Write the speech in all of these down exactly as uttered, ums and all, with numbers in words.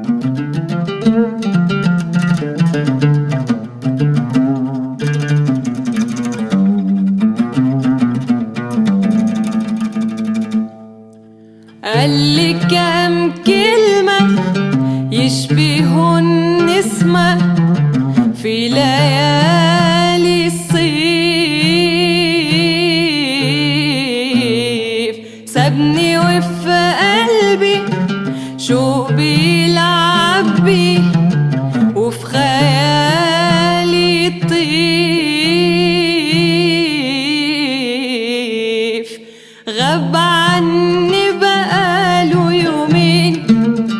قالي كام كلمة يشبهوا النسمة في ليالي الصيف، سابني وفي قلبي شوق بيلعب بيه وفي خيالي طيف، غاب عني بقاله يومين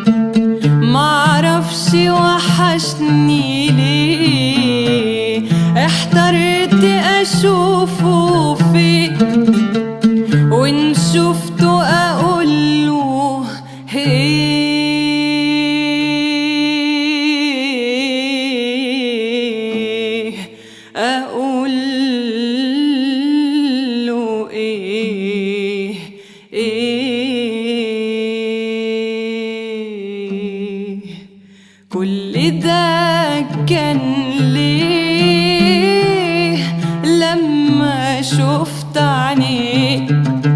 معرفش وحشني ليه، احترت اشوفه فين وان شفته اقوله ايه، اقوله ايه ايه. كل ده كان ليه لما شفت عينيه،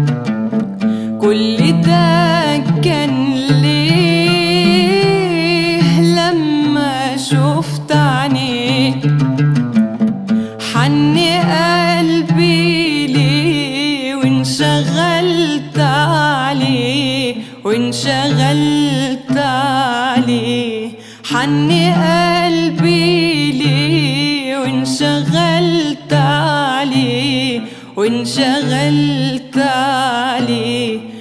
كل ده كان ليه لما شفت عينيه، حن قلبي ليه وانشغلت عليه وانشغلت عليه، حن قلبي ليه وانشغلت عليه وانشغلت عليه.